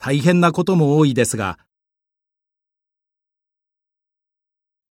大変なことも多いですが、